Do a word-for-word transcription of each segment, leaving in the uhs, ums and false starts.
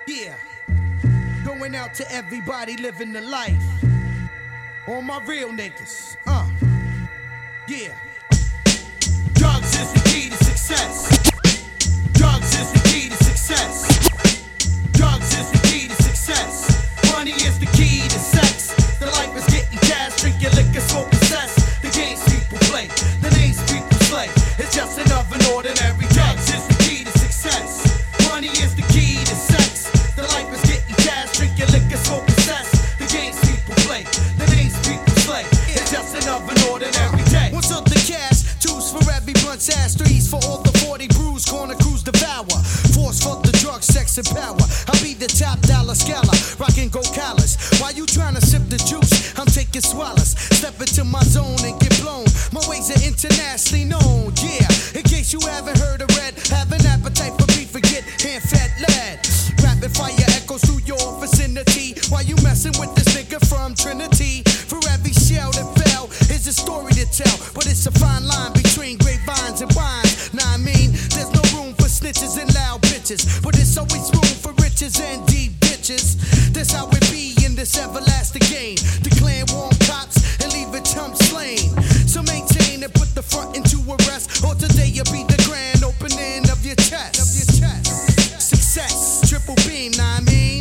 Yeah, going out to everybody living the life. All my real niggas, uh, yeah. Drugs is the key to success. Drugs is the key to success. Drugs is the key to success. Money is the key to sex. The life is getting cash, drinking liquor, smoking cess. The games people play, the names people slay. It's just another ordinary day. Drugs is the key to success. Money is the key to sex. The life is getting cash, drinking liquor, smoking cess. The games people play, the names people slay. It's just another ordinary day. What's up the cash? Two's for every blunt's ass, threes for all the forty brews, corner crews devour. Force for the drugs, sex and power. I'll be the top dollar scholar, rockin' gold collars. While you tryna sip the juice, I'm taking swallows. Step into my zone and get blown. My ways are internationally known, yeah. In case you haven't heard or read, have an appetite for beef, forget hand fat lead. Rapid fire echoes through your vicinity while you messin' with this nigga from Trinity. For every shell that fell is a story to tell, but it's a fine line between grapevines and wines. Nah, I mean, there's no room for snitches and loud bitches, but it's always room for riches and deep bitches. That's how it be in this everlasting game. Declare warm cops and leave a chump slain. So maintain and put the front into arrest, or today you'll be the grand opening of your chest. Of your chest. Success, triple beam, nah, I mean,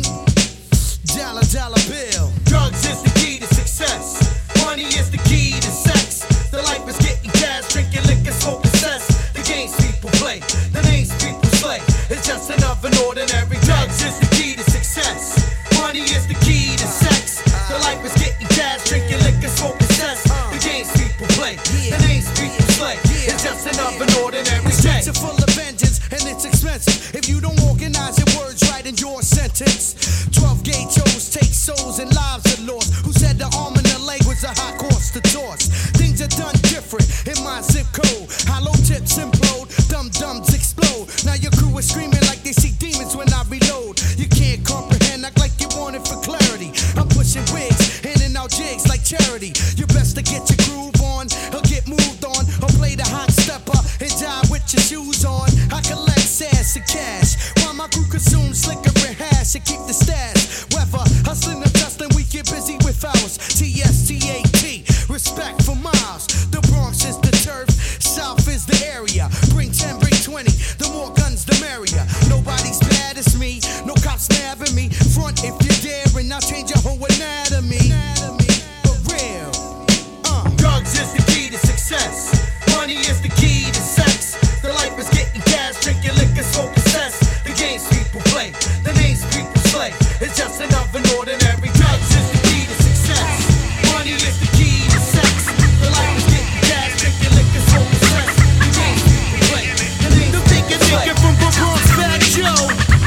dollar dollar bill. Drugs is the key to success. Money is the key to sex. The life is getting cash, drinking liquor, smoking cess. The games people play, the names people slay. It's just another ordinary day. Drugs is the key to success. Money is the key to sex. The life is getting cash, drinking liquor, smoking cess. The games people play, the names people slay. It's just another ordinary day. Streets are full of vengeance and it's expensive if you don't organize your words right in your sentence. Twelve gauge shows take souls and lives are lost. Who said the arm in the leg was a high cost to toss? Things are done different in my zip code. Hollow tips implode, dum dums explode. Now your crew is screaming like they see demons when I reload. You can't comprehend, act like you want it for clarity. I'm pushing wigs, handing out jigs like charity. You best to get your groove on, or get moved on, or play the hot stepper and die with your shoes on. I collect sass and cash, while my crew consumes slicker and hash and keep the stash. Weather, hustling and dusting, we get busy with ours. T S T A T, respect for miles. The Bronx is the turf, South is the area. Bring ten, bring twenty, the more guns the merrier. Nobody's bad as me, no cops nabbing me. Front if you dare and I'll change your whole anatomy. For real, uh. Drugs is the key to success. Money is the key to sex. The life is getting cash, drinking liquor, smoking cess. The games people play, the names people slay. It's just another ordinary. Drugs is the key to success. Money is the key to sex. The life is getting cash, drinking liquor, smoking cess. The games people play, the names the people slay. The from the Bronx, Fat Joe.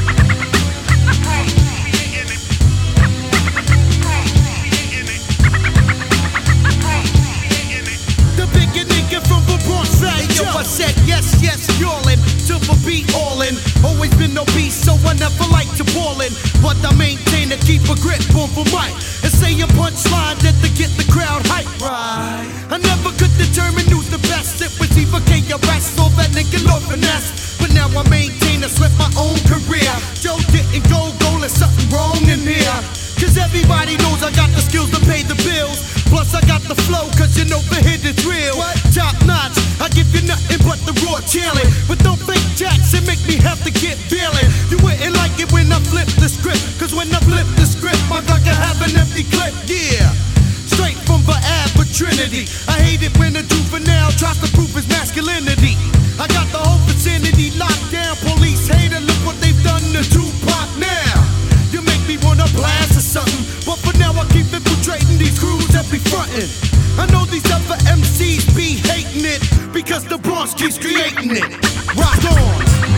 The bigger nigga from the Bronx, Fat Joe. Yo, I said yes, yes, y'allin', silver beat all in. Always been obese, so I never like to ball in. But I maintain to keep a grip on for mic and say a punchline that to get the crowd hype. Right. I never could determine who's the best. It was either K R S or that nigga Lord Finesse. But now I maintain to sweat my own career. Joe didn't go goal, there's something wrong in here. Cause everybody knows I got the skills to pay the bills. Plus I got the flow, cause you know the hit is real. What? Top notch, I give you nothing but the raw challenge. But don't fake jacks and make me have to get feeling. You wouldn't like it when I flip the script, cause when I flip the script, my Glock can have an empty clip. Yeah, straight from the Ab for Trinity. I hate it when a juvenile tries to prove his masculinity. I got the whole vicinity locked down. Police hater, look what they've done to Tupac now. You make me wanna blast or something, but for now I keep infiltrating these crews that be frontin'. I know these other M Cs be hating it, because the Bronx keeps creating it. Rock on.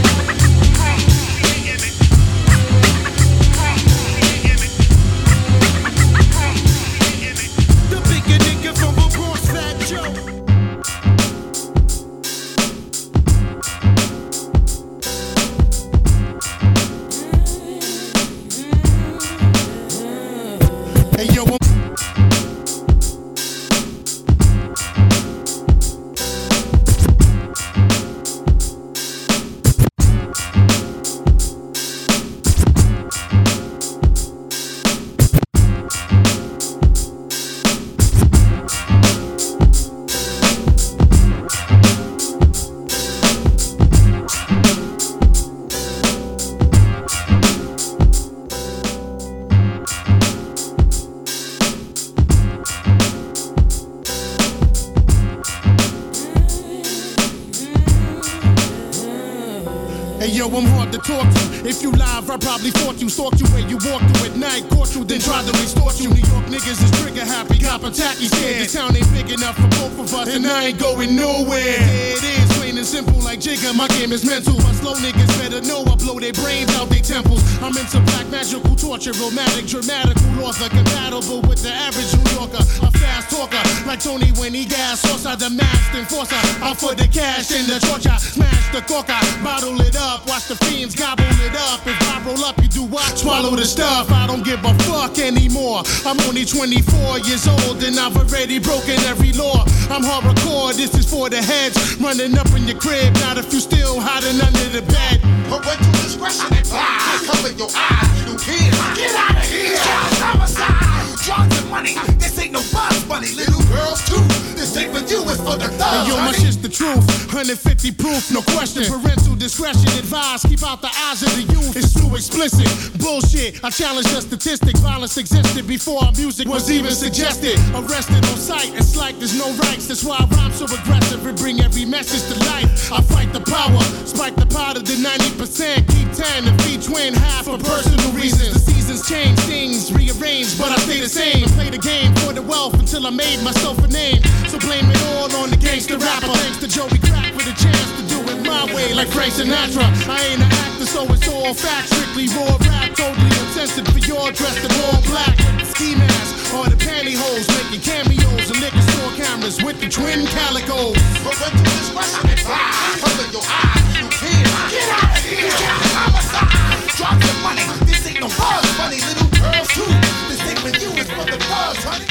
I'm hard to talk to. If you live, I probably fought you, stalked you where you walked through at night, caught you, then tried to extort you. New York niggas is trigger happy, cop attacky scared. This town ain't big enough for both of us, and I ain't going nowhere. Yeah, it is plain and simple like Jigga, my game is mental. My slow niggas better know I blow their brains out their temples. I'm into black magical torture, romantic, dramatical author, compatible with the average New Yorker. A fast talker, like Tony when he gas, sauce out the masked enforcer. Out for the cash in the Georgia, smash the coca, bottle it up, watch the fiends gobble it up. If I roll up, you do what? Swallow the stuff. I don't give a fuck anymore. I'm only twenty-four years old and I've already broken every law. I'm hardcore, this is for the heads. Running up in your crib, not if you still hiding under the bed. Parental discretion advised. Cover your eyes, you kids. Get out of here. Child homicide. Drugs and money. This ain't no buzz money. Little girls too. This ain't for you, it's for the thugs. Hey, yo, my shit's the truth. one fifty proof, no question. Parental discretion advised. Keep out the eyes of the youth. It's too explicit. Bullshit. I challenge the statistic. Violence existed before our music was even suggested. Arrested on sight. It's like there's no rights. That's why I rhyme so aggressive and bring every message to life. I fight the power. Spike the powder to ninety percent. Keep ten and feed twin half for personal reasons. The seasons change, things rearrange, but I stay the same. Play the game for the wealth until I made myself a name. So blame it all on the gangster rapper. Thanks to Joey Crack for the chance to do it my way, like Frank Sinatra. I ain't an actor, so it's all fact. Strictly raw rap, totally uncensored for your dressed in all black. Ski mask or the pantyhose, making cameos and liquor store cameras with the twin calicos. Parental discretion advised. Cover your eyes, you kids. Get out of here. Child homicide. Drop your money. This ain't no buzz money. Little girls too. This ain't for you, it's for the thugs, honey.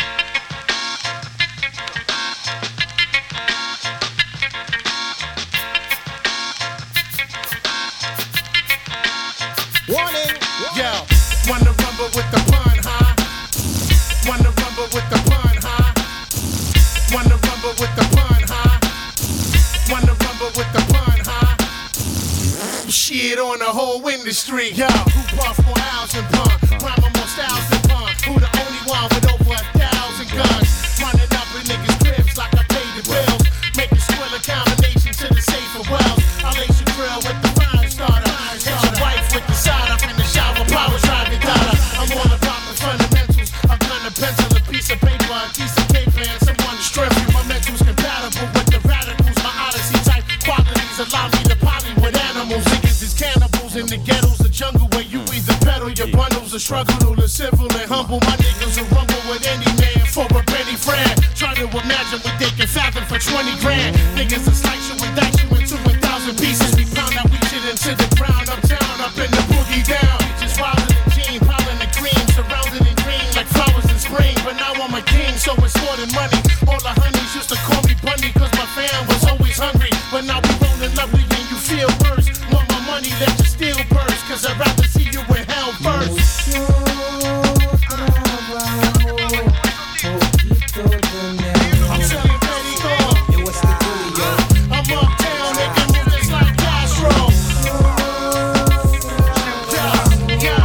Warning. Yo, wanna rumble with the pun, huh? Wanna rumble with the pun, huh? Wanna rumble with the pun, huh? Wanna rumble with the pun, huh? Shit on the whole industry, yo. Who puff more hours than pun? Rhyme more styles than pun. Who the only one with over a thousand guns? Running up in niggas' cribs like I paid the bills. Make you squill a combination to the safer wells. I lace your grill with the fire starter. Hit your wife with the side up in the shower. Power drive your daughter. I'm all about the fundamentals. A gun, a pencil, a piece of paper, a piece of paper, and someone to strip you. My mental's compatible with the radicals. My odyssey type qualities allow me to poly with animals. Niggas is cannibals in the ghettos, the jungle where you either pedal your bundles or struggle to civil and humble. My niggas will rumble with any man for a penny friend. Try to imagine what they can fathom for twenty grand. Niggas will slice you and dice you into a thousand pieces. We pound that weed shit into the ground. Uptown, up in the boogie down. Just wildin' in jean, piling the cream, surrounded in green like flowers in spring. But now I'm a king, so it's more than money. All the honeys used to call me Bunny, cause my fam was always hungry. But now we rollin' lovely and you feel worse. Want my money, let your steel burst, cause I'd rather see you in hell first. I'm selling petty gold. I'm uptown, nigga, move just like Castro. Yeah, yeah,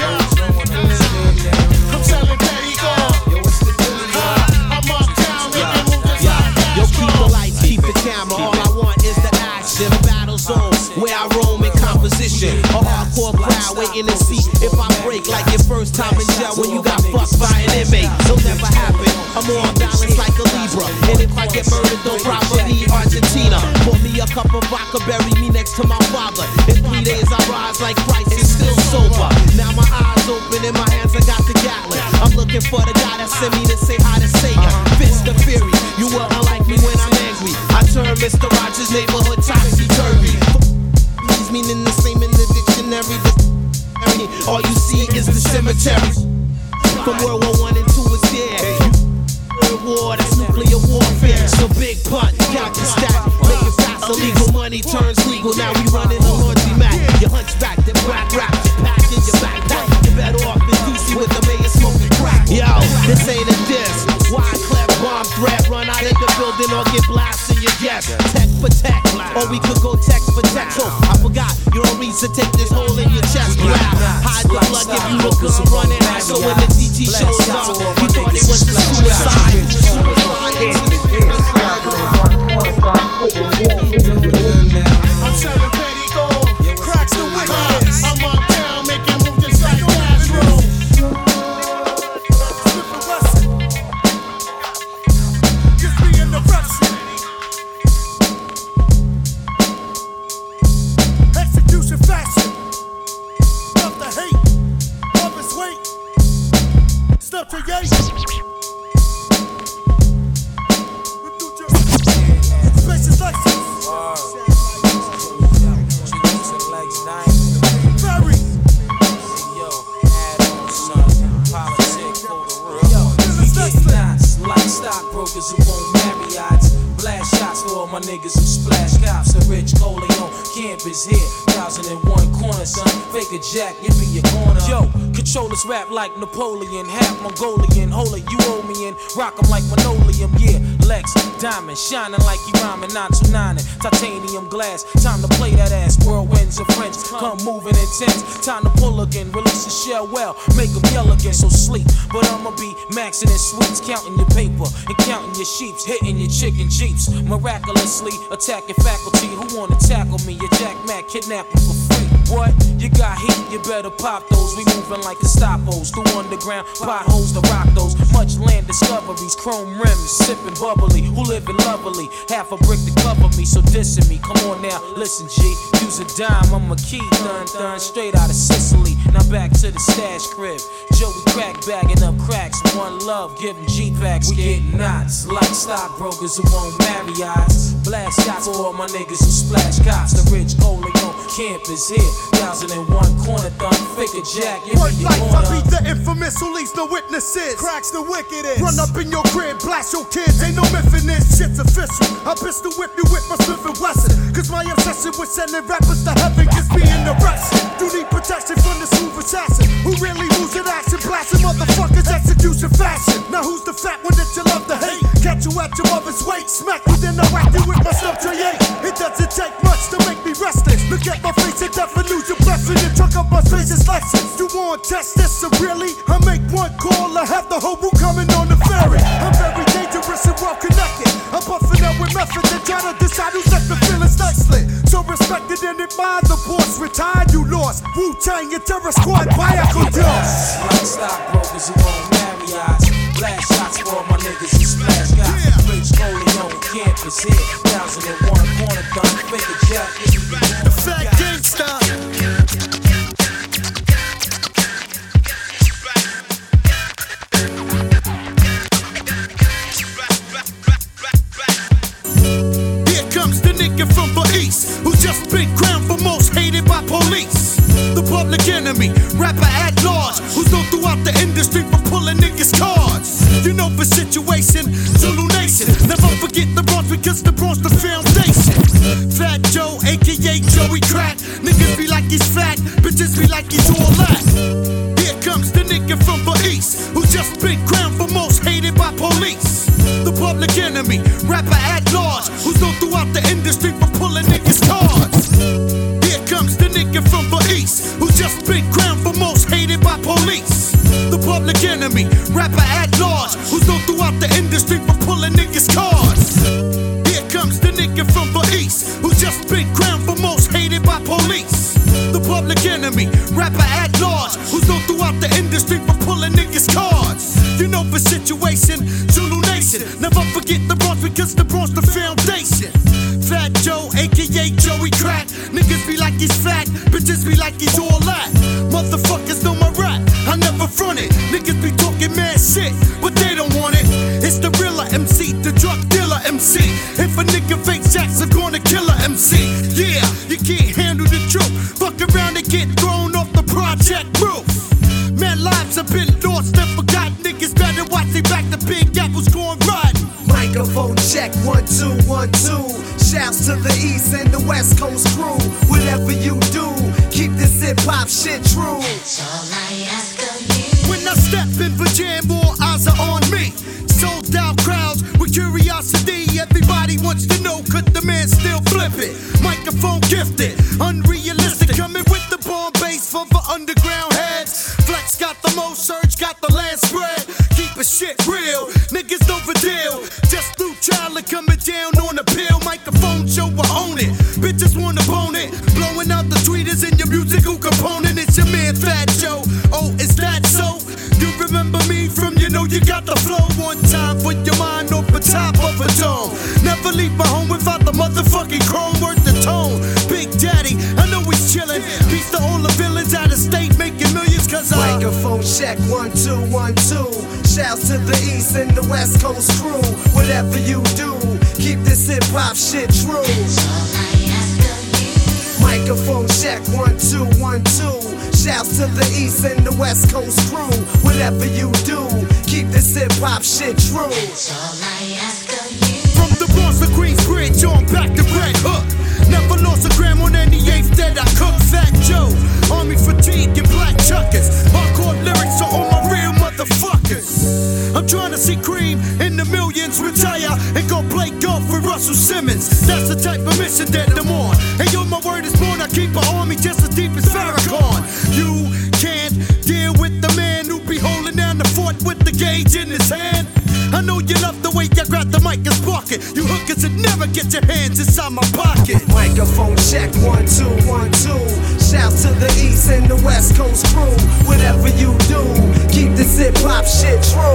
yeah. I'm selling petty gold. I'm uptown, nigga, move just like Castro. Yo, keep the lights, keep the camera. All I want is the action. A battle zone where I roam in composition. A hardcore crowd waiting to see if I break like your first time in jail when you got fucked by an inmate. It'll never happen. I'm on balance like a Libra. And if I get murdered, don't probably Argentina. Pour me a cup of vodka, bury me next to my father. In three days I rise like Christ and still sober. Now my eyes open, in my hands I got the Gatling. I'm looking for the guy that sent me to say hi to Satan. Fist the fury, you will unlike me when I'm angry. I turn Mister Rogers' neighborhood topsy-turvy. Please meaning the same in the dictionary. All you see is the cemetery. From World War One and Two is there. World War, that's nuclear warfare. So big punt, count the stack, make it fast. Illegal money turns legal. Now we running a laundromat. Your hunchback, the black rap, your pack in your backpack. You're better off in D C with the mayor smoking crack. Yo, this ain't a diss. Wide clef bomb threat. Run out of the building or get blasted. Your guess. Tech for tech, or we could go text for text. Oh, I forgot. You don't reach to take this hole in your chest. Grab, hide the blood, give you the gun running. So when the D T shows up, you thought it was the suicide. I'm selling petty gold, cracks the is here. Thousand and one corner, son. Fake a jack, you be your corner. Yo, controllers rap like Napoleon, half Mongolian. Hold it, you owe me in. Rock 'em like linoleum, yeah. Lex, diamond, shining like he rhyming, nine two nine and titanium glass. Time to play that ass. Whirlwinds of French, come moving intense. Time to pull again, release the shell well, make 'em yell again. So sleep, but I'ma be maxing in sweets, counting your paper and counting your sheeps, hitting your chicken jeeps. Miraculously attacking faculty who wanna tackle me. Your Jack Mac kidnapping for free. What? You got heat, you better pop those. We moving like Gestapos through underground potholes to rock those. Much land discoveries, chrome rims, sipping bubbly. Who living lovely? Half a brick to cover me, so dissing me. Come on now, listen, G. Use a dime, I'm a key, dun dun, straight out of Sicily. Now back to the stash crib. Joey crack bagging up cracks. One love, giving G-packs. We get knots like stockbrokers who won't marry eyes. Blast shots for all my niggas who splash cops. The rich Oleon camp is here. Thousand and one corner thumb, fake a jack. Work life, I be the infamous who leaves no witnesses. Cracks the wickedest. Run up in your crib, blast your kids. Ain't no myth in this, shit's official. I pistol whip you with my Smith and Wesson. Cause my obsession with sending rappers to heaven gets me in the arrested. You need protection from the smooth assassin who really moves in action, blasting motherfuckers execution fashion. Now who's the fat one that you love to hate? Catch you at your mother's weight, smack you then I whack you with my stuff to eight. It doesn't take much to make me restless. Look at my face and death and lose your breath in the trunk of my face is lessons. You want to test this, so really? I make one call, I have the whole woo coming on the ferry. I'm very dangerous and well connected. I'm buffing up with methods and trying to decide who's left the feelings nicely. So respected and admired, the boss retired, you lost. Wu-Tang and Terror Squad, Bayako Dios. Like stockbrokers who won't marry eyes. Blast shots for all my niggas who splash guys. Yeah. Rich Oleon campus here. Thousand and one corner thumb, fake a jack. The fat gangsta. From the east, who just been crowned for most hated by police. The public enemy, rapper at large, who's known throughout the industry for pulling niggas' cards. You know the situation, Zulu Nation. Never forget the Bronx because the Bronx the foundation. Fat Joe, aka Joey Crack. Niggas be like he's fat, bitches be like he's all that. Here comes the nigga from the east, who just been crowned for most hated by police. The public enemy, rapper at large, who's known throughout the industry for pulling niggas' cards. Here comes the nigga from the east, who just been crowned for most hated by police. The public enemy, rapper at large, who's known throughout the industry for pulling niggas' cards. Here comes the nigga from the east, who just been crowned for most hated by police. The public enemy, rapper at large, who's known throughout the industry for pulling niggas' cards. You know the situation, Zulu Nation. Never forget the Bronx because the Bronx the foundation. Fat Joe, aka Joey Crack. Niggas be like he's fat, bitches be like he's all that. Motherfuckers know my rap, I never front it. Niggas be talking mad shit, but they don't want it. It's the realer M C, the drug dealer M C. If a nigga fake jacks, I'm gonna kill a M C. Yeah, you can't handle the truth. Fuck around and get thrown off the project roof. Man, lives have been lost and forgotten. Niggas better watch they back, the Big Apple's going rotten. Microphone check, one, two, one, two. Shouts to the East and the West Coast crew. Whatever you do, keep this hip-hop shit true. That's all I ask of you. When I step in for jam, all eyes are on me. Sold out crowds with curiosity. Everybody wants to know, could the man still flip it? Microphone gifted, unrealistic. Coming with the bomb bass for the underground heads. Flex got the most, Surge got the land spread. Keep a shit real, niggas know the deal. Just through trial and coming down on the pill. Microphone show, I own it. Bitches wanna bone it. Blowing out the tweeters in your musical component. It's your man Fat Joe. Oh, is that so? You remember me from, you know you got the flow. One time for your mind off the top of a dome. Never leave my home without the motherfucking chrome. Worth the tone. Big Daddy, I know he's chillin'. Peace to all the villains out of state making millions cause I Microphone check, one, two, one, two. Shouts to the East and the West Coast crew. Whatever you do, keep this hip-hop shit true. That's all I ask of you. Microphone check, one, two, one, two. Shouts to the East and the West Coast crew. Whatever you do, keep this hip-hop shit true. That's all I ask of you. from the Bronx to Queensbridge on back to Red Hook. Never lost Cross the gram on any eighth that I cook. Fat Joe, army fatigue and black chuckers. Hardcore lyrics to all my real motherfuckers. I'm trying to see Cream in the millions retire and go play golf with Russell Simmons. That's the type of mission that I'm on. And yo, my word is born. I keep an army just as deep as Farrakhan. You can't deal with the man who be holding down the fort with the gauge in his hand. I know you love the way I grab the mic and spark it. You hookers that never get your hands inside my pocket. Microphone check, one, two, one, two. Shouts to the East and the West Coast crew. Whatever you do, keep this hip hop shit true.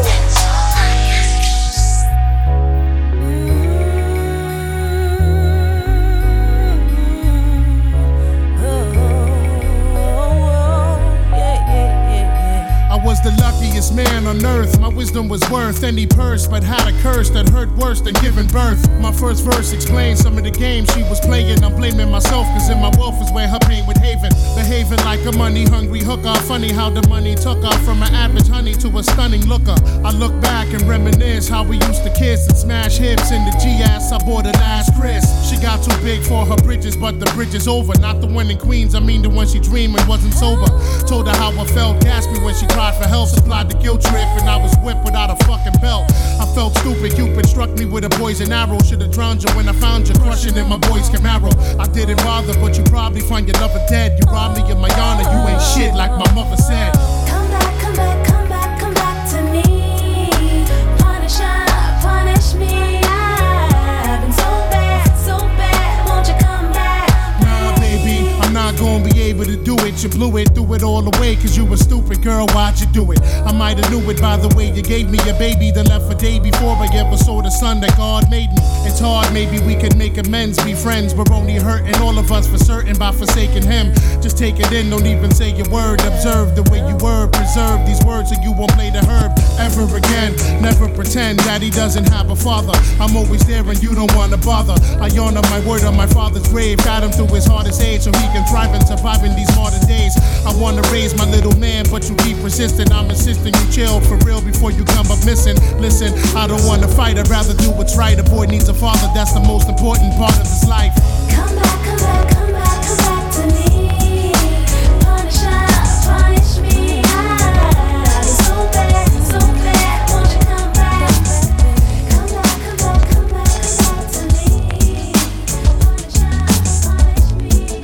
The luckiest man on earth, my wisdom was worth any purse, but had a curse that hurt worse than giving birth. My first verse explains some of the games she was playing. I'm blaming myself, cause in my wealth is where her pain would haven. Behaving like a money hungry hooker. Funny how the money took her from an average honey to a stunning looker. I look back and reminisce how we used to kiss and smash hips in the G S I bought her last Chris. She got too big for her bridges, but the bridge is over. Not the one in Queens, I mean the one she dreamed and wasn't sober. Told her how I felt, gasped me when she cried for help. Supplied the guilt trip and I was whipped without a fucking belt. I felt stupid, Cupid struck me with a poison arrow. Should've drowned you when I found you crushing in my boy's Camaro. I didn't bother, but you probably find your lover dead. You robbed me of my honor, you ain't shit like my mother said. Come back, come back, come back, come back to me. Punish her, punish me. I've been so bad, so bad, won't you come back? Nah, baby, I'm not gonna be able to do it. You blew it, threw it all away, cause you were stupid, girl, why'd you do it? I might've knew it by the way you gave me a baby that left a day before I ever saw the sun that God made me. It's hard, maybe we could make amends, be friends. We're only hurting all of us for certain by forsaking him. Just take it in, don't even say a word. Observe the way you were, preserve these words so you won't play the herb ever again. Never pretend that he doesn't have a father. I'm always there and you don't wanna bother. I honor my word on my father's grave. Got him through his hardest age so he can thrive and survive in these modern days. I wanna raise my little man, but you keep resisting. I'm insisting you chill for real before you come up missing. Listen, I don't wanna fight, I'd rather do what's right. A boy needs a father, that's the most important part of his life. Come back, come back, come back, come back to me. Punish her, punish me. I've been so bad, so bad, won't you come back? Come back, come back, come back, come back to me. Punish her, punish me.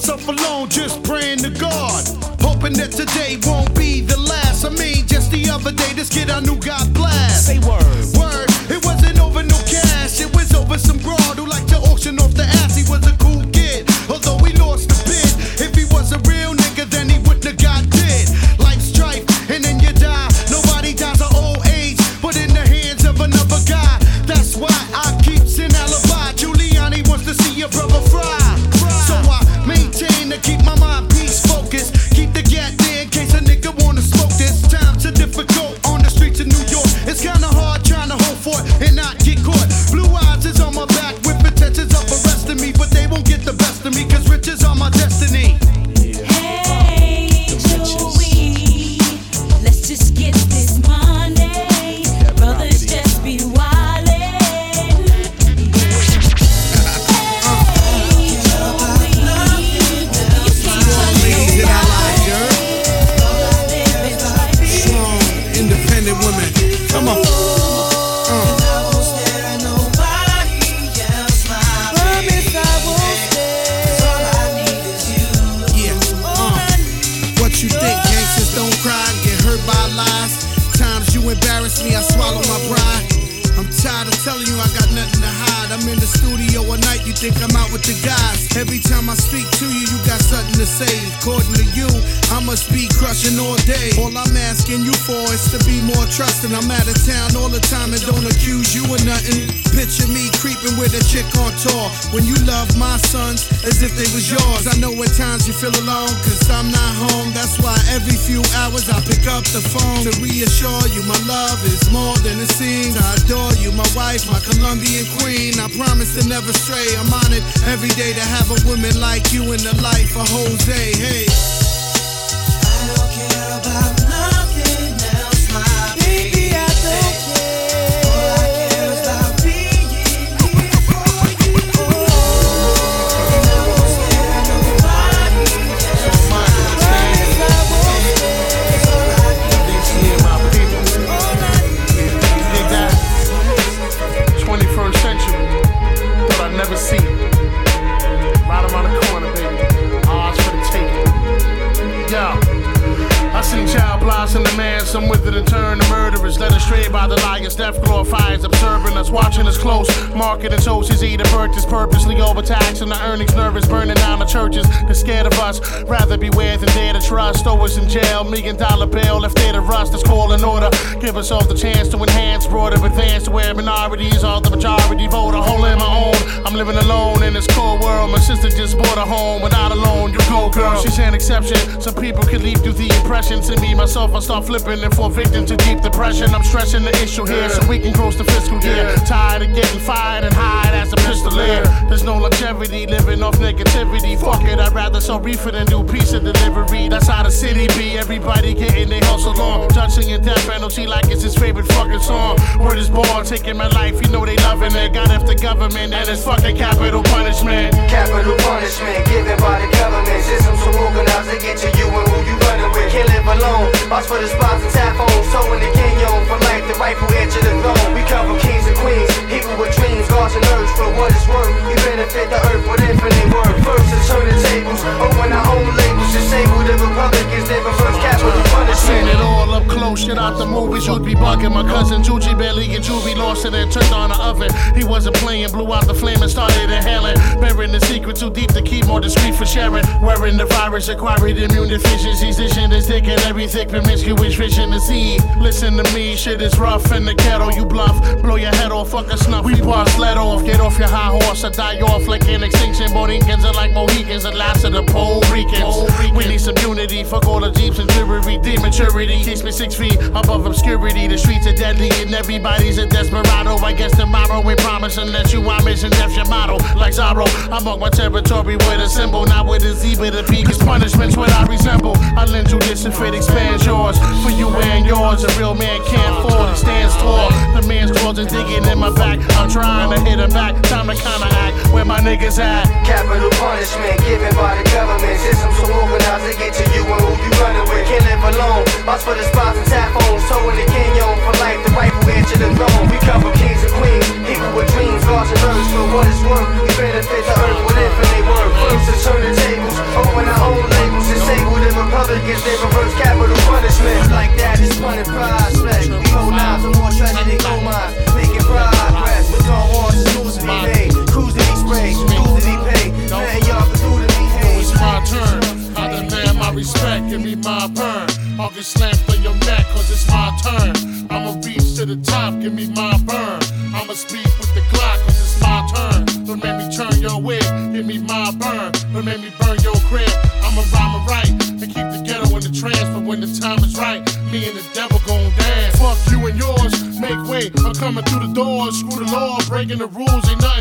Hoping that today won't be the last. I mean, just the other other day, this kid I knew got blast. Say word. Word, it wasn't over no cash. It was over some broad who liked to auction off the ass. He was a cool kid, although he lost the bid. If he was a real nigga, then he wouldn't have got dead. Life's strife, and then you die. Nobody dies of old age, but in the hands of another guy. That's why I keep an alibi. Giuliani wants to see your brother fry. So I maintain to keep my mind peace focused. Keep the gat there in case a nigga wanna smoke this. Times are difficult on the streets of New York. It's kinda hard trying to hold for it and not get caught. Blue eyes is on my back with intentions of arresting me, but they won't get the best of me, cause riches are my destiny. Hey, Joey, let's just get this money. Brothers just be wildin'. Independent women, come on. What you think? Gangsters don't cry and get hurt by lies. Times you embarrass me, I swallow my pride. I'm tired of telling you I got nothing to hide. I'm in the studio all night, you think I'm out with the guys. Every time I speak to you, you got something to say. According to you, I must be crushing all day. All I'm asking you for is to be more trusting. I'm out of town all the time and don't accuse you of nothing. Picture me creeping with a chick on tour. When you love my sons as if they was yours. I know at times you feel alone, cause I'm not home. That's why every few hours I pick up the phone to reassure you my love is more than it seems. I adore you, my wife, my Colombian queen. I promise to never stray. I'm on it every day to have a woman like you in the life of Jose. Hey, I don't care about nothing else, my baby. I don't care. All I care is about being here for you. Oh, and I won't stare at nobody else. My promise I won't stare. All I need is you. Yeah, my people. All I need You dig that? twenty-first century. Thought I'd never see it. Right around the corner, baby. Odds for the taking. Yo. I seen child blossom the man, some with it and turn to murderers, led astray by the liars. Death glorifies, observing us, watching us close. Marketing toasts, eating purchase, purposely overtaxing the earnings, nervous, burning down the churches. They're scared of us, rather beware than dare to trust. Throw us in jail, million dollar bail, if they're to rust. Let's call an order, give us all the chance to enhance, broader advance to where minorities are the majority vote. A hole in my own, I'm living alone in this cold world. My sister just bought a home, without a loan, you go girl. She's an exception, some people could leave through the impression. To me, myself, I start flipping and fall victim to deep depression. I'm stressing the issue here so we can close the fiscal year. Tired of getting fired and hired as a pistolier. There's no longevity living off negativity. Fuck it, I'd rather sell reefer than do pizza delivery. That's how the city be. Everybody getting their hustle on. Judging in death penalty like it's his favorite fucking song. Word is born, taking my life, you know they loving it. Got after government and it's fucking capital punishment. Capital punishment given by the government. Systems so organized to get to you and who you running with. Can't live alone. Box for the spots and tap phones. Toe in the canyon for life, the rightful edge of the throne. We come from kings and queens, people with dreams, gods and earth. For what it's worth, you benefit the earth with infinite worth. First to turn the tables, open our own labels. Disable the Republicans, they reverse capital punishment. Seen it all up close, shit out the movies, you'd be bugging. My cousin Juji barely and Juvie lost it and turned on the oven. He wasn't playing, blew out the flame and started inhaling. Burying the secret too deep to keep more discreet for sharing. Wearing the virus, acquired immune deficiencies. This shit is thick and everything promiscuous vision to see. Listen to me, shit is rough in the ghetto. You bluff, blow your head off, fuck a snuff. We bust, let off, get off your high horse or die off like an extinction. Borincans are like Mohicans, the last of the Puerto Ricans. We need some unity, fuck all the jeeps and jewelry. Dematurity keeps me six feet above obscurity. The streets are deadly and everybody's a desperado. I guess tomorrow we promising that you are mission, death's your motto. Like Zorro, I mark my territory with a symbol, not with a Z, but a P, cause punishment's what I resemble. I lend you this if it expands yours. For you and yours, a real man can't fall, he stands tall. The man's claws are digging in my back. I'm trying to hit him back, time to counteract. Where my niggas at? Capital punishment given by the government. Systems so organized to get to you and who you running with. Can't live alone. Box for the spots and tap phones. Toe in the canyon for life, the rightful edge of the throne. We come from kings and queens, people with dreams, gods and earth. For what it's worth, we benefit the earth with infinite worth. First to turn the tables, open our own labels. Disable the Republicans, they reverse capital punishment. Like that is fun and pride.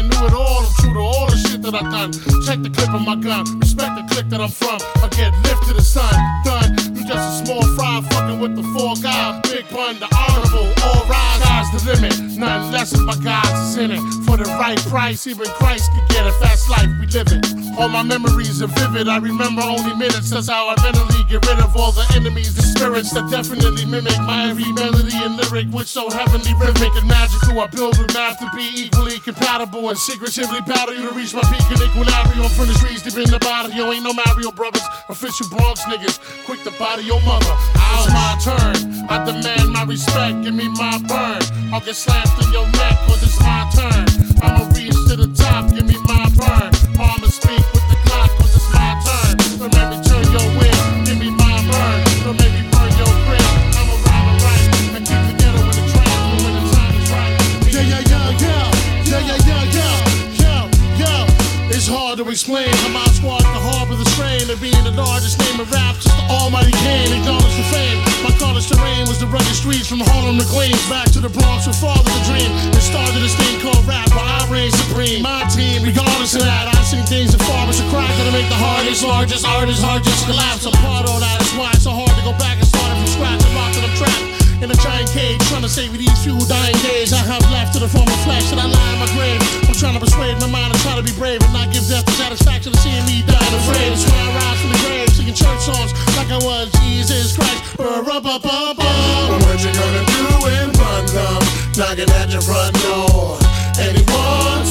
knew it all. I'm true to all the shit that I done. Check the clip of my gun. Respect the clique that I'm from. I get lift to the sun. Done. You just a small fry fucking with the four guys. Big pun, the honorable. All rise. Sky's the limit. Nothing less of my guys is in it. For the right price, even Christ could get a fast life. We live it. All my memories are vivid. I remember only minutes. That's how I mentally get rid of all the enemies, the spirits that definitely mimic my every melody and lyric, which so heavenly rhythmic and magical. I build with math to be equally compatible and secretively battle you to reach my peak in equilibrium. From the streets deep in the body, yo, ain't no Mario Brothers, official Bronx niggas, quick to body your mother. It's my turn. I demand my respect. Give me my burn. I'll get slapped in your neck, cause it's my turn. I'ma reach to the top. Give me my burn. I'ma speak with the clock, cause it's my turn. Don't make me turn your wind. Give me my burn. Don't make me burn your grip. I'ma rhyme and write and keep the ghetto in the track when the time is right. Yeah, yeah, yeah, yeah. Yeah, yeah, yeah, yeah. Yo, yo. It's hard to explain how my squad can harbor the strain of being the largest name of rap since the almighty Kane acknowledged the fame. My college terrain was the rugged streets from Harlem to Queens, back to the Bronx with father the dream. It started this thing called rap where I reign supreme. My team, regardless of that, I've seen things that far as a crack that'll make the hardest, largest artists hard just collapse. I'm part of that, that's why it's so hard to go back and start it from scratch. I'm locked in a trap in a giant cage, trying to save these few dying days I have left to the form of flesh that I lie in my grave. I'm trying to persuade my mind and try to be brave and not give death the satisfaction of seeing me die afraid. That's why I rise from the grave, singing church songs like I was Jesus Christ. Ba-ra-ba-ba-ba. What you gonna do when run come knocking at your front door? Anyone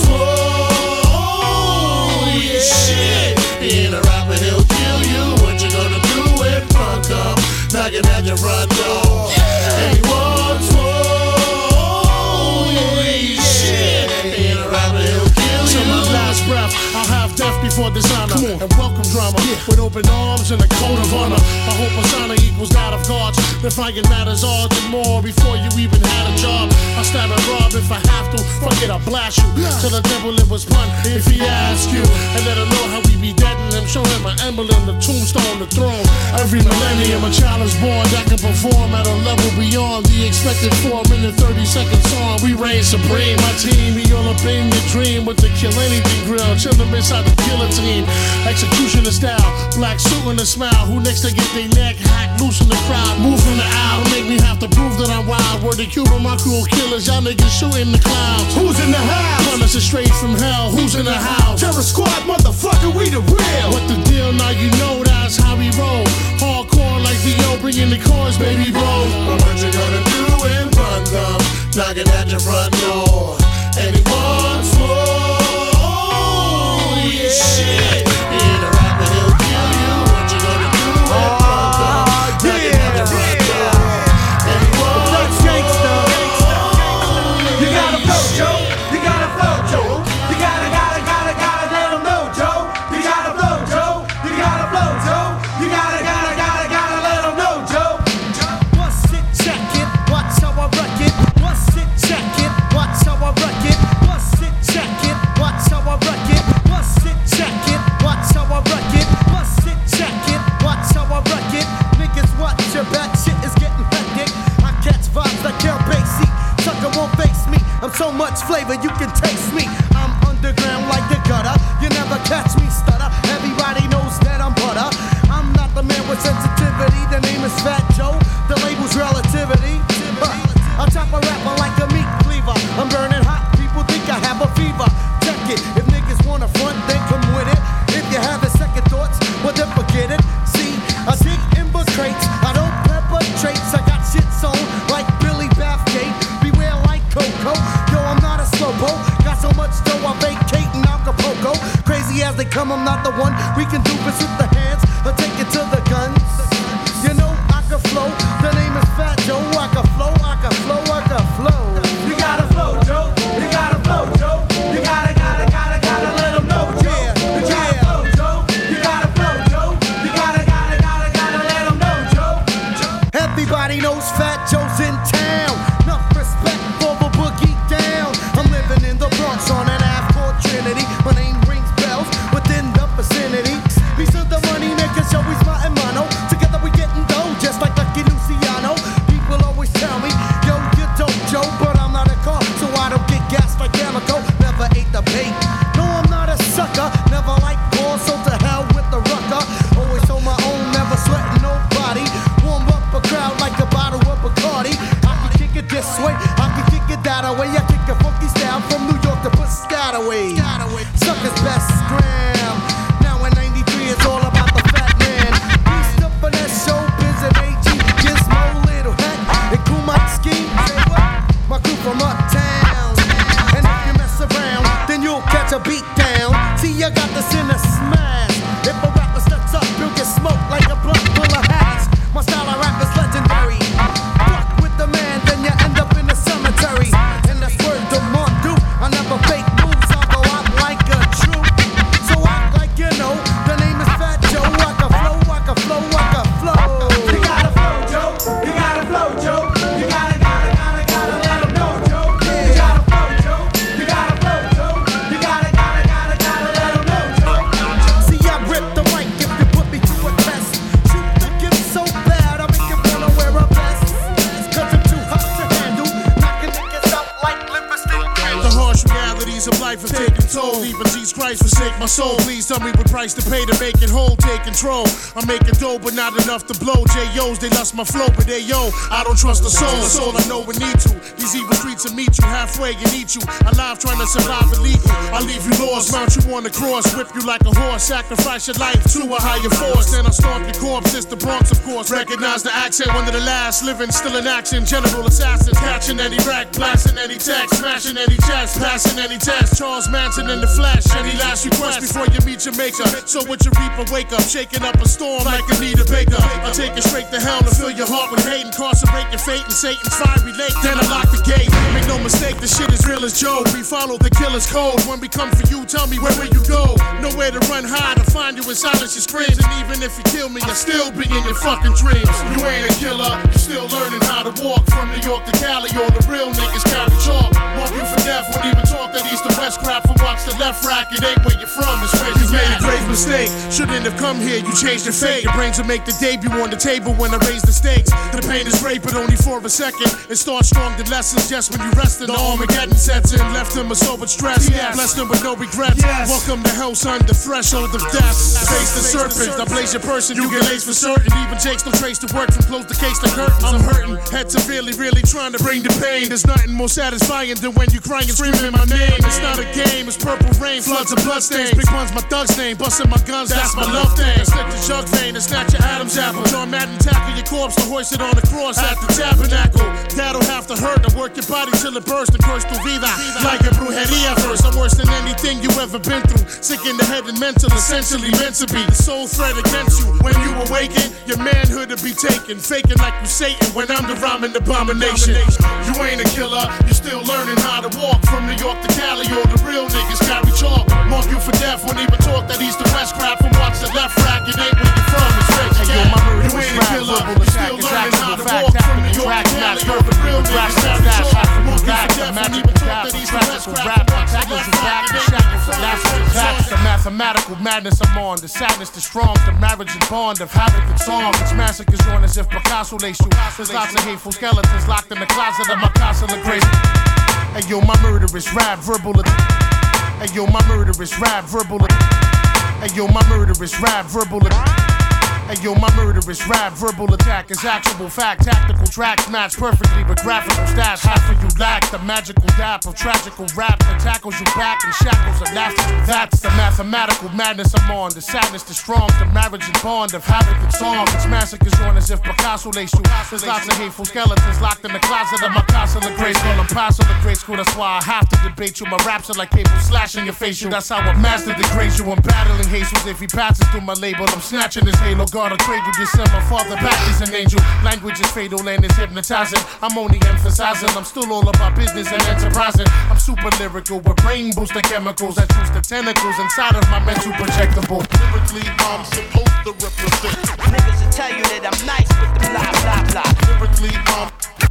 swore? Yeah, shit. Being a rapper, he'll kill you. What you gonna do when run come knocking at your front door? Anyone swore? Yeah, shit. Being a rapper, he'll kill you. Till my last breath, I'll have death before dishonor and welcome drama yeah. with open arms and a code of honor. I hope honor equals that of gods. The fighting matters all and more before you even had a job. I'll stab and rob if I have to. Fuck it, I'll blast you till the devil it was pun if he asks you. And let him know how we be deadin' him. Show him my emblem, the tombstone, the throne. Every millennium a child is born that can perform at a level beyond the expected four minute thirty second song. We reign supreme. My team, we all up in your dream with the kill anything grill. Chillin' inside the guillotine. Executioner style, black suit and a smile. Who next to get their neck hacked loose in the crowd? Move from the aisle, make me have to prove that I'm wild. Word to Cuba, my cool killers, y'all niggas shooting the clouds. Who's in the house? Punished us straight from hell. Who's in the house? Terror Squad, motherfucker, we the real. What the deal? Now you know that's how we roll. Hardcore like the yo, bringing the chorus, baby, bro. What you gonna do when run come knocking at your front door? Anyone swore? Yeah, shit. Being a rapper, he'll kill you. What you gonna do when run come knocking at your front door? Anyone swore? You gotta flow, Joe. You gotta flow, Joe. You gotta, gotta, gotta, gotta let them know, Joe. You gotta flow, Joe. You gotta flow, Joe. You gotta, gotta, gotta, gotta let them know, Joe. What's it, check it, watch how I wreck it. What's it, check it, watch how I wreck it. What's it, check it, watch how I wreck it. What's it, check it, watch how I wreck it. What's it, check it, watch how I wreck it. Niggas watch your back, shit is getting hectic. I catch vibes like Count Basie. Sucker won't face me. I'm so much flavor you can taste me. I'm underground like the gutter. You never catch me stutter. Everybody knows that I'm butter. I'm not the man with sensitivity. The name is Fat Joe. The label's relativity. Uh, I chop a rapper like a meat cleaver. I'm burning hot. People think I have a fever. Check it. If niggas wanna front, then come with it. If you have a second thoughts, well then forget it. See, I dig in book crates. I don't pepper traits. I got shit sewn like Billy Bathgate. Beware like Coco. Yo, I'm not a slowpo. Got so much dough, I vacate in Acapulco. Crazy as they come, I'm not the one. We can do this with the hands. I'll take it to the guns. You know I can flow. The name is Fat Joe. I can flow, I can flow, I can flow. You gotta flow, Joe. You gotta flow, Joe. You gotta, gotta, gotta, gotta let them know, Joe. Yeah, You gotta yeah. flow, Joe. You gotta flow, Joe. You gotta, gotta, gotta, gotta let them know, Joe. Everybody knows Fat Joe's in town. Enough respect for the boogie down. I'm living in the Bronx on an Ave called Trinity. My name rings bells within the vicinity. Piece of the money makers always gram. Now in ninety-three, it's all about the fat man. Beast up for that showbiz at A G. Gizmo, little heck, and Kumite scheme. Say what? My crew from uptown. And if you mess around, then you'll catch a beat down. See, I got this in a smash. If a rapper steps up, you'll get smoked like a blunt full of hash. My style of rap is legendary. Fuck with the man, then you end up in the cemetery. And that's word to month, dude. I never fake moves, I'll go out like a true. So act like you know, the name is Fat Joe. I can flow, I can flow, I can flow. You gotta flow, Joe. You gotta flow, Joe. You gotta, gotta, gotta, gotta let 'em know, Joe. You gotta flow, Joe. You gotta flow, Joe. You gotta, gotta, gotta, gotta let 'em know, Joe. See, I rip the mic if you put me to a test. Shoot the gift so bad, I make you wanna wear a vest. Cause I'm too hot to handle, knocking niggas out like lipstick. The harsh realities of life have taken toll. Even Jesus Christ forsake my soul. Please tell me what price to pay to make it whole. Take control. I'm making dough, but not enough to blow. J O's, they lust my flow, but they yo, I don't trust the soul. That's all I know we need to. These evil streets will meet you halfway and eat you. Alive trying to survive illegal. I leave you lost, mount you on the cross, whip you like a horse, sacrifice your life to a higher force. Then I stomp your corpse. It's the Bronx, of course. Recognize the accent, one of the last living, still in action. General assassins, catching any rack, blasting any text, smashing any chest, passing any test. Charles Manson in the flesh. Any last request before you meet your maker? So with your reaper, wake up, shaking up a storm like Anita Baker. I take it straight to hell and fill your heart with hate, incarcerate your fate in Satan's fiery lake. Then I lock the gate. Make no mistake, the shit is real as Joe. We follow the killer's code. When we come for you, tell me where will you go? Nowhere to run, hide, to find you in silence your screams. And even if you kill me, I'll still be in your fucking dreams. You ain't a killer, you still learning how to walk. From New York to Cali, all the real niggas carry chalk. Mark you for death, won't even talk that east to west crap. For watch the left rack, it ain't where you're from, it's where you made a grave mistake. Shouldn't have come here, you changed your fate. Your brains will make the debut on the table when I raise the stakes. The pain is great, but only for a second. It starts strong, the lessons just when you rest in. The Armageddon sets in, left him a sober stress. Yes. Blessed him with no regrets. Yes. Welcome to hell, son, the threshold of death. Face the serpent, I blaze your person, you get laced for certain. Even takes no trace to work from close the case to curtains. I'm hurting, head severely, really trying to bring the pain. There's nothing more satisfying than when you crying and screaming my name. It's not a game, it's purple rain, floods of bloodstains. Big one's my thug's name, busting my guns, that's my love thing. Slip the jug vein and snatch your Adam's apple. John Madden tackle your corpse to hoist it on the cross at the tabernacle. That'll have to hurt to work your body till it bursts and curse tu vida. Like a brujeria verse, I'm worse than anything you ever been through. Sick in the head and mental, essentially meant to be. The sole threat against you. When you awaken, your manhood will be taken. Faking like you Satan when I'm the rhyming abomination. You ain't a killer, you still learning how to walk. From New York to Cali, all the real niggas carry chalk. Mark you for death, won't even talk that east to west crap. From watch the left rack, it ain't where you're from, it's where you at. You ain't a killer, you still learning how to walk. From New York to Cali, all the real niggas carry chalk. Mark you for death, won't even talk that east to west crap. From watch the left rack, it ain't where you're from, it's The mathematical madness I'm on, the sadness, the strong, the marriage and bond of havoc and song. It's massacres on as if Picasso laced you. There's lots of hateful skeletons locked in the closet of my castle of grace. Hey yo, my murderous rap, verbal. Hey yo, my murderous rap, verbal. Hey yo, my murderous rap, verbal. Hey yo, my murderous rap, verbal attack is actual fact. Tactical tracks match perfectly with graphical stats. Half of you lack the magical dap of tragical rap that tackles you back in shackles of laughter. That's the mathematical madness I'm on. The sadness, the strong, the marriage and bond of havoc and song. It's massacres on as if Picasso laced you. There's lots of hateful skeletons locked in the closet of my castle of grace. Call them pass of the grade school, that's why I have to debate you. My raps are like cable slashing your facial. That's how I master degrade you. I'm battling Jesus if he passes through my label. I'm snatching his halo. God, a cradle, just send my father back as an angel. Language is fatal and it's hypnotizing. I'm only emphasizing, I'm still all about business and enterprising. I'm super lyrical with brain boosting chemicals that choose the tentacles inside of my mental projectable. Lyrically, I'm supposed to represent. Niggas will tell you that I'm nice with the blah blah blah. Lyrically, I'm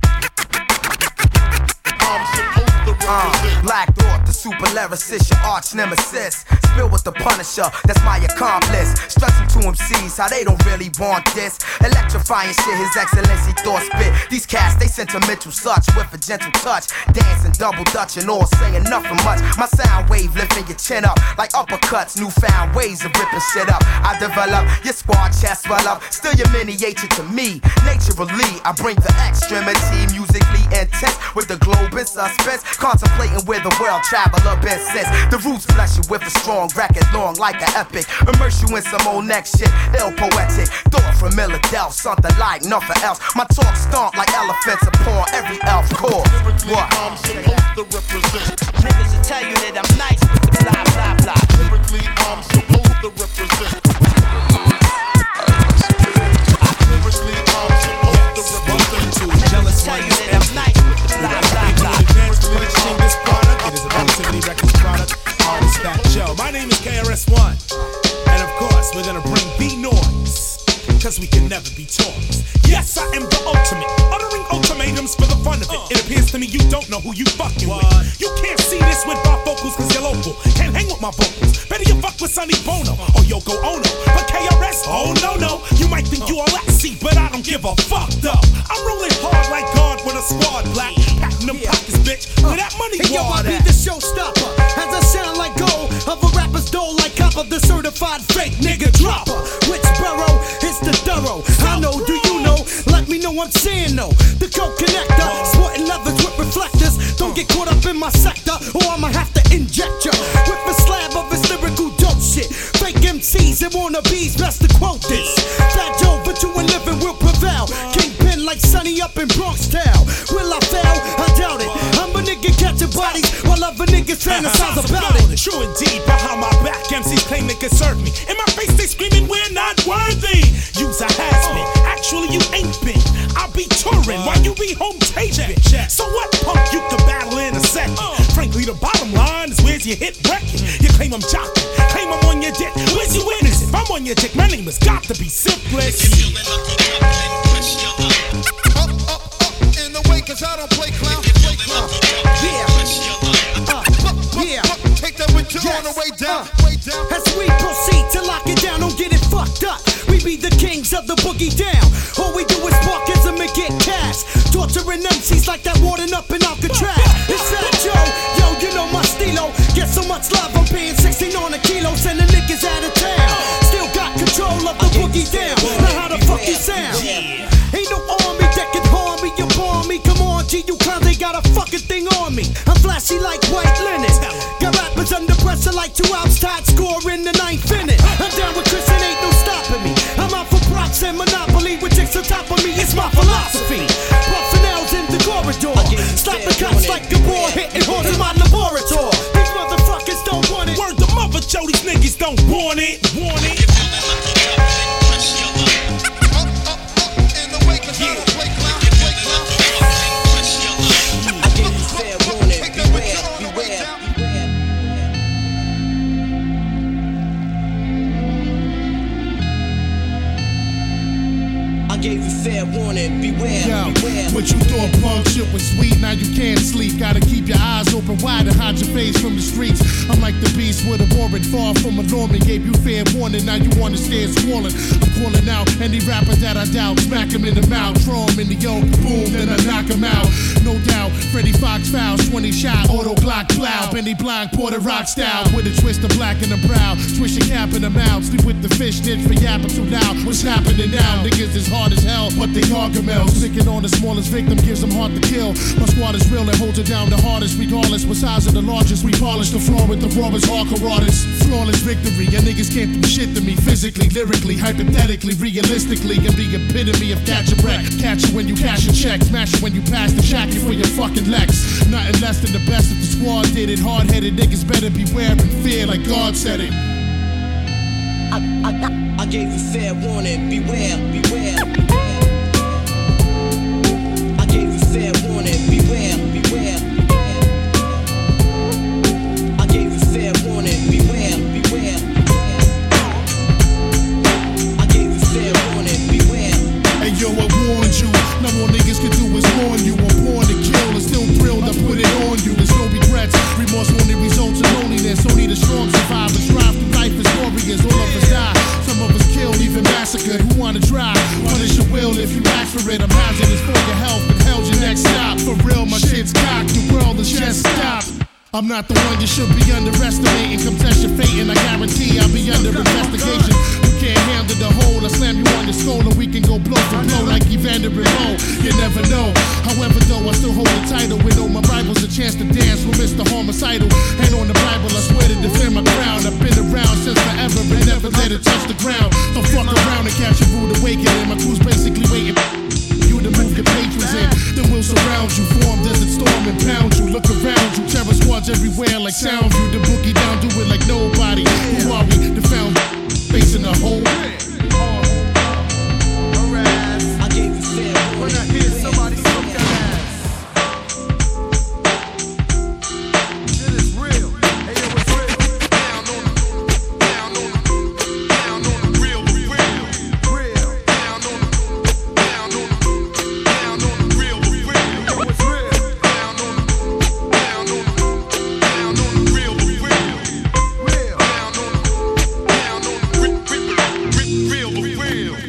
I'm supposed to represent. Uh, Black Thought, the super lyricist, your arch nemesis. Spill with the Punisher, that's my accomplice. Stressing to M Cs how they don't really want this. Electrifying shit, His Excellency thought spit. These cats, they sentimental such with a gentle touch. Dancing, double dutch and all saying nothing much. My sound wave lifting your chin up like uppercuts. Newfound ways of ripping shit up. I develop your squad chest swell up. Still your miniature to me. Naturally, I bring the extremity. Musically intense with the globe in suspense. Con contemplating where the world traveler been since. The roots bless you with a strong record, long like an epic. Immerse you in some old next shit, ill poetic. Thought from Philadelphia, something like nothing else. My talk stomp like elephants upon every elf core. What? I'm supposed to represent. Niggas will tell you that I'm nice with the blah blah blah. Lyrically, I'm supposed to represent. Lyrically, I'm supposed to represent. Niggas will tell you that I'm nice with the blah blah blah. This product, it is a Positivity Records product. Artist Fat Joe. My name is K R S One, and of course we're gonna bring B noise, cause we can never be toys. Yes, I am the ultimate, uttering ultimatums for the fun of it. It appears to me you don't know who you fucking with. You can't see this with my vocals cause you're local. Can't hang with my vocals. Better you fuck with Sonny Bono or Yoko Ono. But K R S, oh no no. You might think you all at sea, but I don't give a fuck though. I'm rolling hard like God with a squad black. Packing them pockets, bitch. Where that money Hey yo, I wad be at? the showstopper. As I sound like gold of a rapper's dole like copper, the certified fake nigga dropper. Which borough is the thorough? I know, do you know? Let me know I'm saying no. The code connector, sporting leathers with reflectors. Don't get caught up in my sector, or I'ma have to inject ya with a slab of this lyrical dope shit. Fake M Cs and wannabes, best to quote this. Fat Joe, but you and living will prevail. Kingpin like Sonny up in Bronx Town. Will I fail? I doubt it. I'm a nigga catching bodies while other niggas fantasize about it. True indeed, behind my back, M Cs claim they can serve me. In my face, they screaming, we're not worthy. You's a has-been, actually you ain't been. I'll be touring while you be home taping. So what, punk, you can battle in a second. Frankly, the bottom line is where's your hit record? You claim I'm jocking, claim I'm on your dick. Where's your witness? If I'm on your dick, my name has got to be Simplest. Up, up, up in the way, cause I don't play clown. Play clown. Yeah. Uh, yeah. Take that with you on the way down. Way down. As we proceed to lock it down, don't get it fucked up. We be the kings of the boogie down. All we do is sparkism and get cash. Torturing M Cs like that warden up in Alcatraz. It's Fat Joe, yo, you know my stilo. Get so much love, I'm paying sixteen on a kilo. Sending niggas out of town. Still got control of the boogie down. Now how the fuck you sound? Ain't no army that can harm me, you bomb me. Come on, G, you clowns ain't got a fucking thing on me. I'm flashy like white linen. Got rappers under pressure like two outs tied, score in the ninth inning. I'm down with Chris and ain't no stopping me. I'm out for props and Monopoly with chicks on top of me. It's my philosophy. Buffing L's in the corridor. Slapping cops like a boy, hitting horns in my laboratory. These motherfuckers don't want it. Word to mother, Joe, these niggas don't want it. Want it. Gave you fair warning, beware, Yo, beware. what you thought punk shit was sweet, now you can't sleep. Gotta keep your eyes open wide and hide your face from the streets. I'm like the beast with a warrant, far from a Norman. Gave you fair warning, now you understand squalling. I'm calling out any rapper that I doubt. Smack him in the mouth, throw him in the yoke, boom, then I knock him out. No doubt, Freddie Fox fouls, twenty shot, auto Glock plow. Benny Blanc, Porter Rock style, with a twist of black in the brow. Swish your cap in the mouth, sleep with the fish snitch for yapping too loud. What's happening now? Niggas is hard as hell, but they gargamels. Picking on the smallest victim gives them hard to kill. My squad is real and holds it down the hardest. Regardless, what size of the largest, we polish the floor with the rawest hardcore artists. Flawless victory, your niggas can't do shit to me. Physically, lyrically, hypothetically, realistically, and the epitome of catch a wreck. Catch you when you cash a check, smash you when you pass the shack you for your fucking Lex. Nothing less than the best if the squad did it. Hard-headed niggas better beware and fear like God said it. I, I, I gave you fair warning, beware, beware, beware. I gave you fair warning, beware, beware, beware. I gave you fair warning, beware, beware, beware. I gave you fair warning, beware. Hey yo, I warned you. Now all niggas can do is warn you. I'm born to kill and still thrilled I put it on you. There's no regrets. Remorse only results in loneliness. Only the strong survive and strive through life as warriors. All of us die. Some of us killed, even massacred. Who wanna try? Punish your will if you ask for it. I'm hazardous for your health and hell's your next stop. For real, my shit's cocked. The world is just stopped. I'm not the one you should be underestimating. Come test your fate and I guarantee I'll be under investigation. You can't handle the whole. I slam you on your skull and we can go blow for blow like Evander and Moe. you never know. However, though, I still hold the title with all my rivals a chance to dance with Mister Homicidal. And on the Bible, I swear to defend my crown. I've been around since forever and never let it touch the ground. Don't fuck around and catch a rude awakening. My crew's basically waiting you to move your patrons in. Then we'll surround you, form desert storm and pound you. Look around you, terror squads everywhere like Soundview. The boogie down, do it like nobody. Who are we? The found facing the whole. I gave you fair. When I hear somebody smoke that ass. Shit is real. Hey, yo, it's real. Down on the, down on the, down on the real, real, real. Down on the, down on the, down on the real, real. Yo, it's real. Down on the, down on the, down on the real, real, real. Down on the, down on the real, real, real, real.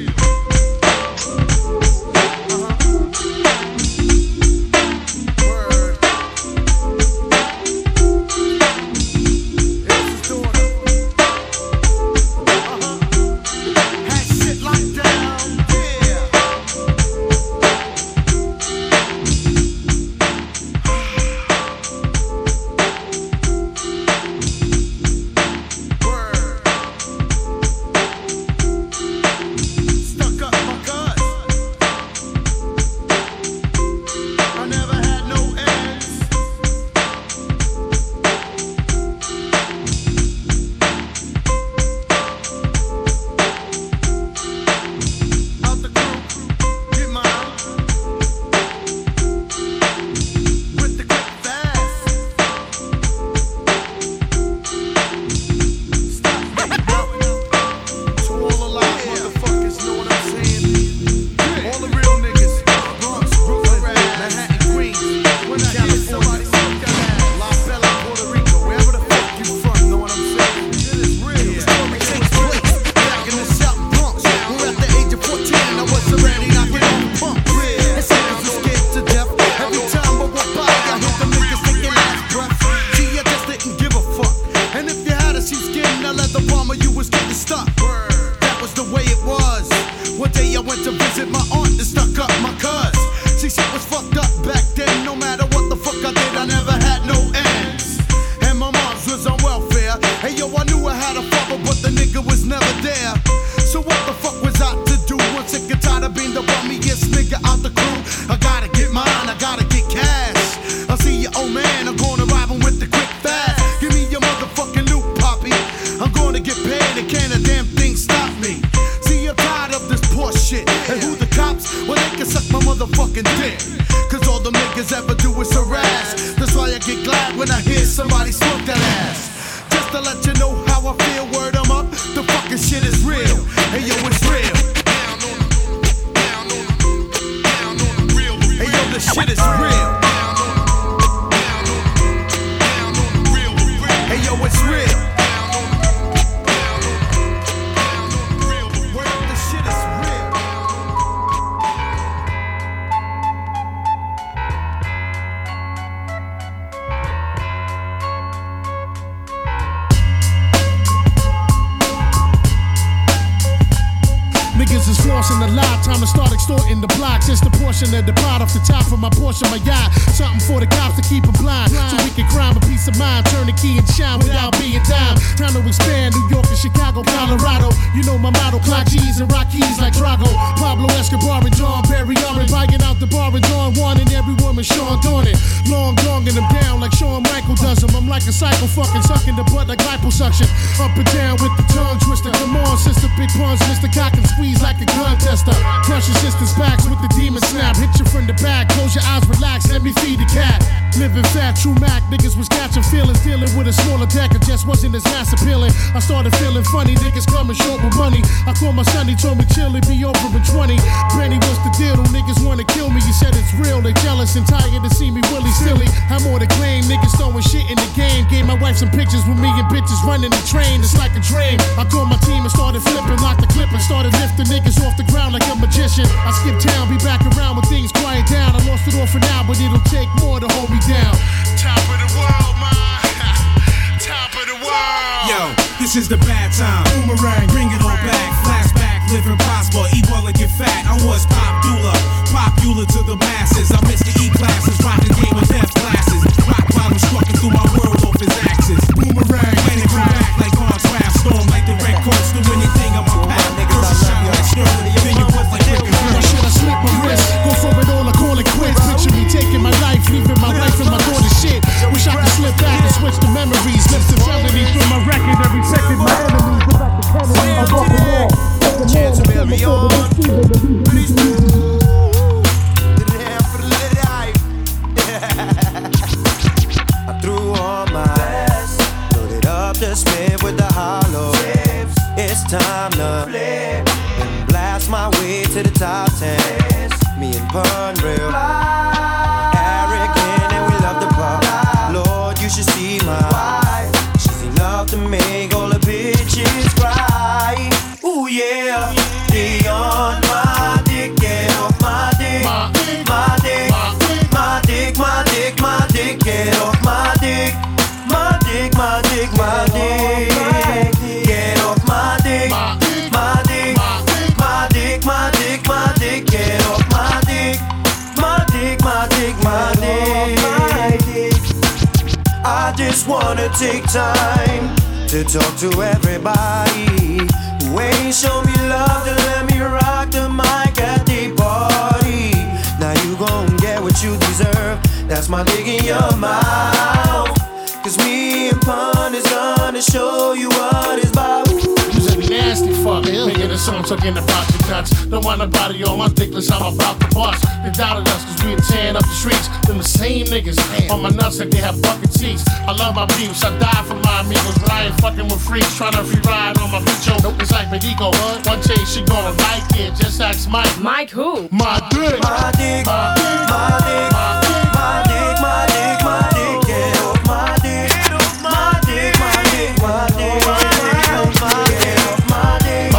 Niggas is forcing the lie, time to start extorting the blocks. It's the portion of the pot off the top of my portion, my yacht. Something for the cops to keep them blind, so we can crime a peace of mind. Turn the key and shine without being dime. Time to expand New York and Chicago, Colorado. You know my motto, clock G's and rock keys like Drago. Pablo Escobar and John Barry Armin, buying out the bar and Dawn Juan and every woman Sean Dornan. Long donging them down like Shawn Michael does them. I'm like a psycho fucking sucking the butt like liposuction. Up and down with the tongue twister. Come on, sister, big puns, Mister Cock and squeeze like a gun tester. Crush your sister's backs with the demon snap. Hit you from the back, close your eyes, relax, let me feed the cat. Living fat, true Mac, niggas was catching feelings. Dealing with a smaller deck, it just wasn't as mass appealing. I started feeling funny, niggas coming short with money. I called my son, he told me chill, it be over in twenty. Granny, what's the deal? Them niggas wanna kill me. You said it's real, they jealous and tired to see me willy silly. I'm more to claim, niggas throwing shit in the game. Gave my wife some pictures with me and bitches running the train. It's like a dream. I called my team and started flipping, locked the clip and started lifting niggas off the ground like a magician. I skip town, be back around when things quiet down. I lost it all for now, but it'll take more to hold me down. Top of the world, man. Top of the world. Yo, this is the bad time. Boomerang, bring it all back. Flashback, live and prosper, eat well and get fat. I was popular, popular to the masses. I missed the E classes, rocking game with death glasses. Rock bottom strucking through my world off his axis. Boomerang, planning come back like contrast. Storm like the red coats, do anything on my path. Girls shine like sterling, then you put like Rick and Or should I slip my wrist? Go for it all or call it quits? Picture me taking my life, leaving my wife and my daughter shit. Wish I could slip back and switch the memories. Lift the felony through my record every second. My enemies go back to Kennedy. I walk the wall. Chance of every on. I threw all my best, loaded up the Smith with the hollow. It's time to flip and blast my way to the top ten. Me and Pun real arrogant and we love the pop. Lord, you should see my wife. She's enough to make all the bitches cry. Ooh yeah, they on my dick, get off my dick, my dick, my dick, my dick, my dick, my dick, get off my dick, my dick, my dick, my dick, get off my dick, my dick, my dick, my dick, my dick, get off my dick, my dick, my dick, my dick. I just wanna take time to talk to everybody who ain't show me love to let me rock the mic at the party. Now you gon' get what you deserve. That's my dick in your mouth. Cause me and Pun is gonna show you what it's about. You's a nasty fuck, making a song talking about your nuts. Don't want nobody on my dickless, I'm about to bust. They doubted us cause we were tearing up the streets. Them the same niggas on my nuts like they have bucket seats. I love my beefs, I die for my amigos. Ryan fucking with freaks, trying to free ride on my bitch. Nope, it's like Medico. One day she gonna like it, just ask Mike. Mike who? My dick. My dick, my dick, my dick, my dick, my dick, my dick, get off my dick, my dick, my dick, my dick, my dick, my dick, my dick,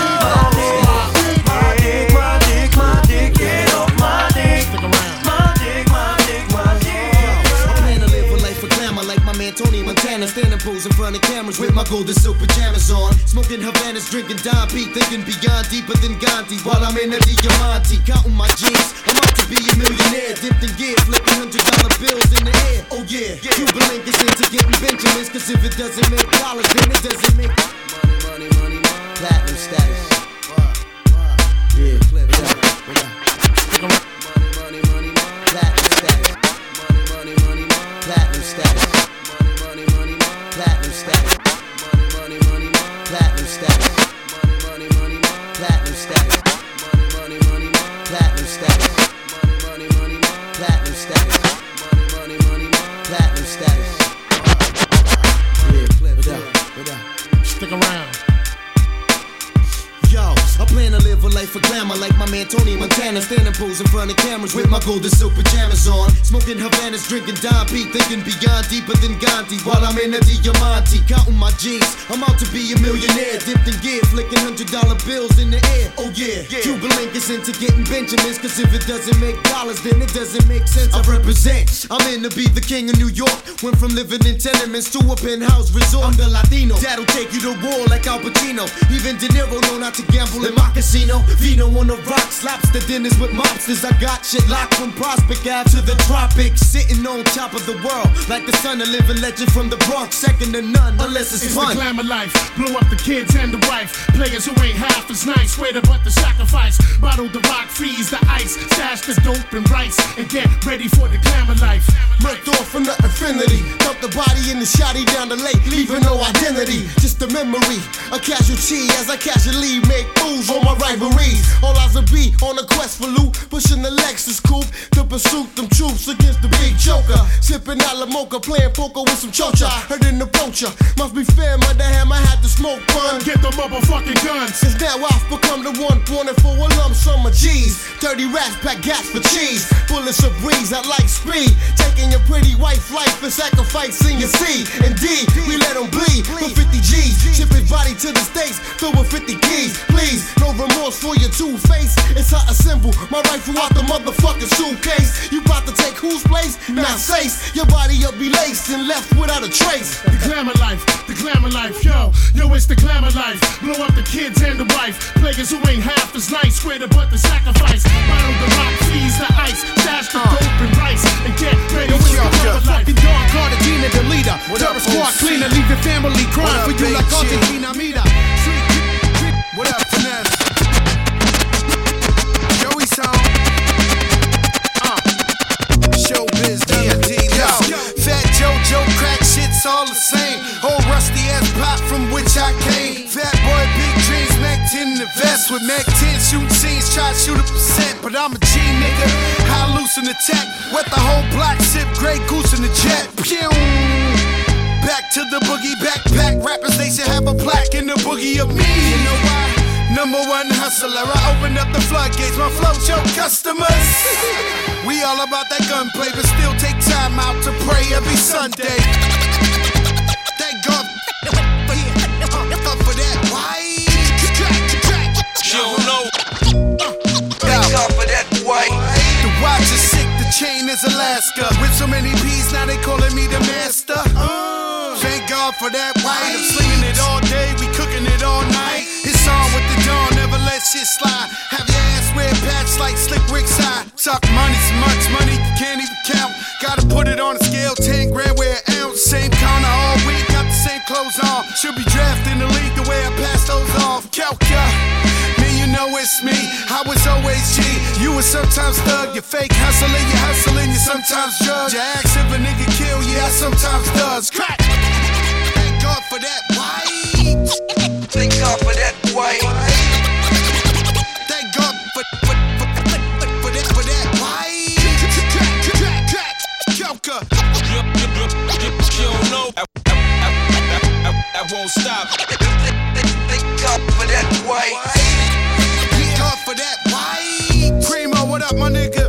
my dick, my dick, my dick, get off my dick, my dick, my dick, my dick. I plan to live a life of glamour like my man Tony Montana, standing pose in front of cameras with my golden silk pajamas on, smoking Havanas, drinking Don P, thinking beyond deeper than Gandhi. While I'm in the Diamante, counting my jeans, I'm out to be a millionaire, dipped in gear, flipping hundred dollar bills in the air. Oh yeah, Cuban link is into getting Benjamins, cause if it doesn't make dollars, then it doesn't make money, money, money, money. Platinum status. Yeah, money, money, money, money. Platinum status. Money, money, money, money. Platinum status. Money, money, money, money. Platinum status. Money, money, money, money. Platinum status. Money, money, money, money. Platinum status. Money, money, money, money. Platinum status. Money, money, money, money. Platinum status. Money, money, money, money. Platinum status. Yeah, what up? What up? Stick around. Yo, I plan to live a life of glamour like my man Tony Montana, standing pose in front of cameras with my golden silk pajamas on, smoking Havanas, drinking Don P, thinking beyond deeper than Gandhi. While I'm in the Diamante, counting my G's, I'm out to be a millionaire, dipped in gear, flicking hundred dollar bills in the air. Oh yeah, Cuban link is into getting Benjamins, cause if it doesn't make dollars, then it doesn't make sense. I represent, I'm in to be the king of New York. Went from living in tenements to a penthouse resort. I'm the Latino that'll take you to war like Al Pacino. Even De Niro know not to gamble in my casino. Vino on the rocks, lobster dinners with mobsters. I got shit locked from Prospect Ave to the tropics, sitting on top of the world like the son of living legend from the Bronx, second to none unless it's, It's fun. the glamour life, blow up the kids and the wife. Players who ain't half as nice, greater but the sacrifice. Bottle the rock, freeze the ice, stash the dope and rice, and get ready for the glamour life. Ripped off from the infinity, dumped the body in the shotty down the lake, leaving no identity, just a memory, a casualty as I casually make moves on my rivalries. All eyes will be on a quest for loot, pushing the Lexus coupe to pursue them troops against the big joker. Sipping a la mocha, playing poker with some chocha. Heard an approacher, must be fair, my damn, I had to smoke fun. Get the motherfucking guns. Since now I've become the one wanted for a lump sum of G's. Dirty rats pack gas for cheese. Bullets of breeze, I like speed. Taking your pretty wife life and sacrificing your seed. Indeed, we let them bleed for fifty G's. Ship his body to the States, filled with fifty keys. Please, no remorse for your two-face. It's how I assemble my rifle out the motherfucking suitcase. You about to take whose place? Now Sace. Your body will be laced and left without a trace. The glamour life, the glamour life, yo, yo, it's the glamour life. Blow up the kids and the wife. Players who ain't half as nice, swear to but the sacrifice. Bottle the rock, freeze the ice, stash the dope and rice, and get ready with the glamour life. Fucking Don Cartagena, the leader. Terror squad cleaner, leave your family crying for you like Argentina, Mira. What up, Finesse? Joey Song. Uh. Showbiz, D D, yo. Fat JoJo, crack shit's all the same. Old rusty ass pop from which I came. Fat boy, big dreams, Mac ten in the vest with Mac ten shooting scenes, try to shoot a percent, but I'm a G nigga. High loose in the tech, wet the whole block, sip Grey Goose in the jet. Pew! Back to the boogie backpack. Rappers, they should have a plaque in the boogie of me. You know why? Number one hustler. I opened up the floodgates. My flow show customers. We all about that gunplay, but still take time out to pray every Sunday. Thank God for that. Why? You don't know. Thank God for that. Why? The watch is sick. The chain is Alaska. With so many P's, now they calling me the master. Thank God for that white. I'm slinging it all day, we cooking it all night. It's on with the dawn, never let shit slide. Have your ass wear patch like Slick Rick's eye. Talk money, so much money, you can't even count. Gotta put it on a scale, ten grand, wear an ounce. Same counter all week, got the same clothes on. Should be drafted in the league the way I pass those off. Calca, man, you know it's me. I was always G. You was sometimes thug, you fake hustling, you hustling, you sometimes drug. You ask if a nigga kill, yeah, I sometimes does. Crack! Thank God for that white. Thank God for that white. Thank God for, for, for, for, for that, for that white. Crack, crack, crack, Joker. You don't know. I, I, I, I, I won't stop. Thank God for that white. Thank God for that white. Primo, what up, my nigga?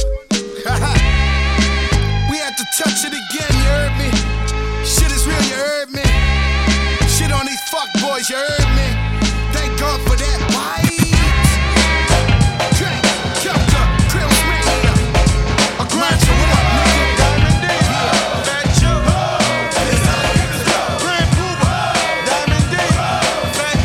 We had to touch it again, you heard me? Shit is real, you heard me? Shit on these fuck boys, you heard me? Thank God for that white. Drink, Kelka, Krills Mania. A grind, what up, nigga? Diamond D, Fat Joe, Grand Pooba, Diamond D, Fat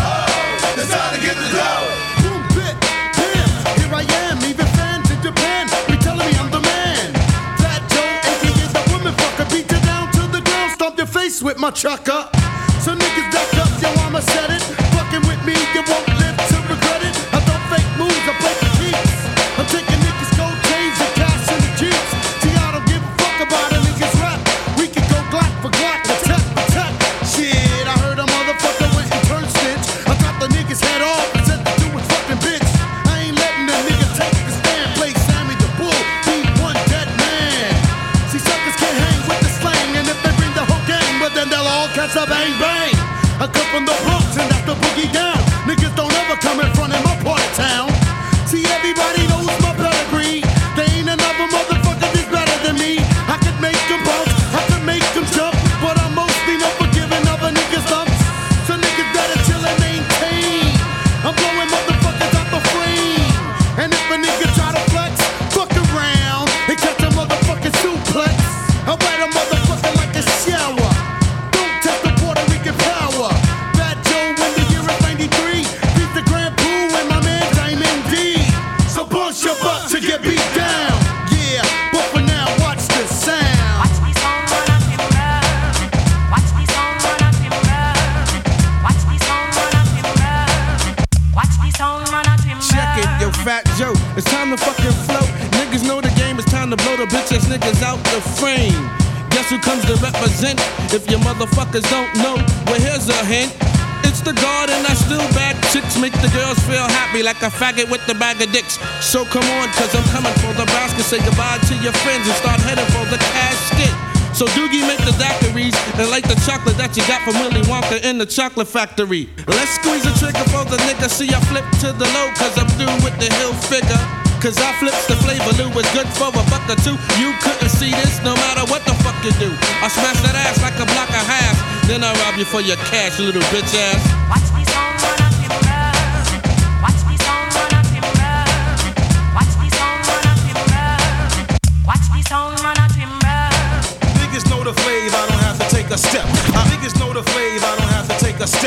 Joe. It's time to get the dough. Boom, bit, bam, here I am, even fans in Japan be telling me I'm the man. Fat Joe, aka the woman fucker, beat you down to the ground, stomp your face with my chucker. So niggas duck up, yo, I'ma set it. Fucking with me, you won't live to regret it. I don't fake moves, I play the beats. I'm taking niggas' gold chains and cash in the jeeps. See, I don't give a fuck about a niggas rap. We can go Glock for Glock, attack for attack. Shit, I heard a motherfucker went and turned stitch. I got the niggas head off and said to do his fucking bitch. I ain't letting a nigga take the stand. Play Sammy the Bull, be one dead man. See, suckers can't hang with the slang, and if they bring the whole gang, but then they'll all catch a bang bang. I come from the Bronx and that's the boogie down. Niggas don't ever come in front of my part of town. See, everybody knows my pedigree. There ain't another motherfucker that's better than me. I could make them bounce, I could make them jump, but I'm mostly not for giving other niggas lumps. So niggas better chill and maintain. I'm blowing motherfuckers out the frame. And if a nigga try to flex, fuck around and catch a motherfucking suplex. I wet a motherfucker like a shower. Don't test the Puerto Rican power. Fat Joe in the year of ninety-three. Beat the Grand Poo and my man Diamond D. So bust your butt to get beat down. Yeah, but for now, watch the sound. Watch me song run up in love. Watch me song run up in love. Watch me song run up in love. Watch me song run up in love. Check it, yo, Fat Joe. It's time to fucking float. Niggas know the game. It's time to blow the bitch ass niggas out the frame. Guess who comes to represent? If your motherfuckers don't know, well, here's a hint. It's the God and I still bad chicks. Make the girls feel happy like a faggot with the bag of dicks. So come on, cause I'm coming for the basket. Say goodbye to your friends and start heading for the casket. So Doogie make the daiquiris and like the chocolate that you got from Willy Wonka in the chocolate factory. Let's squeeze the trigger for the nigga. See I flip to the low cause I'm through with the hill figure. Cause I flips the flavor, Lou is good for a buck or two. You couldn't see this no matter what the fuck you do. I smash that ass like a block of hash. Then I rob you for your cash, little bitch ass. Watch me song run up in love. Watch me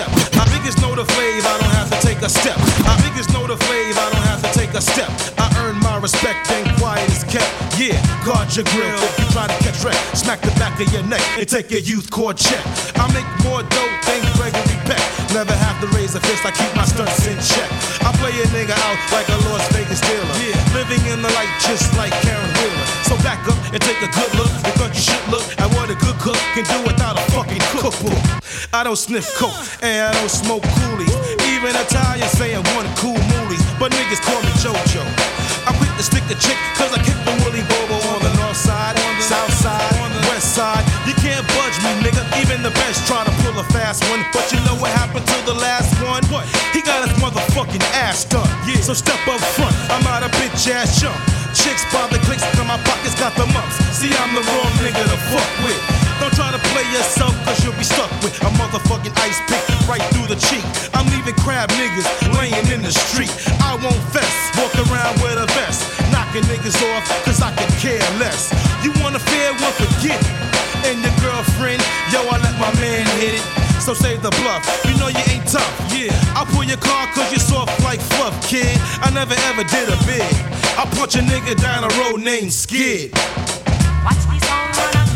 step. My niggas know the flavor, I don't have to take a step. My niggas know the flavor, I don't have to take a step. I earn my respect and quiet is kept. Yeah, guard your grill if you try to catch wreck. Smack the back of your neck and take your youth court check. I make more dope than Gregory Peck. Never have to raise a fist, I keep my stunts in check. I play a nigga out like a Las Vegas dealer. Yeah, living in the light just like Karen Wheeler. So back up and take a good look because you should look at what a good cook can do without a fucking cookbook. I don't sniff coke and I don't smoke coolies. Even Italians saying one cool moolies, but niggas call me JoJo. I'm quick to stick a chick cause I kick the Willy Bobo on the north side, south side, west side. You can't budge me, nigga. Even the best try to pull a fast one. But you know what happened to the last one? What? He got his motherfucking ass done. Yeah. So step up front, I'm not a bitch ass chump. Chicks by the clicks, cause my pockets got the mumps. See, I'm the wrong nigga to fuck with. Don't try to play yourself, cause you'll be stuck with a motherfucking ice pick right through the cheek. I'm leaving crab niggas laying in the street. I won't fess, walk around with a vest, knocking niggas off, cause I could care less. You want a fair one, forget it. And your girlfriend, yo, I let my man hit it. So save the bluff, you know you ain't tough. Yeah, I'll pull your car cause you're soft like fluff, kid. I never ever did a bid. I'll punch a nigga down a road named Skid. Watch these songs run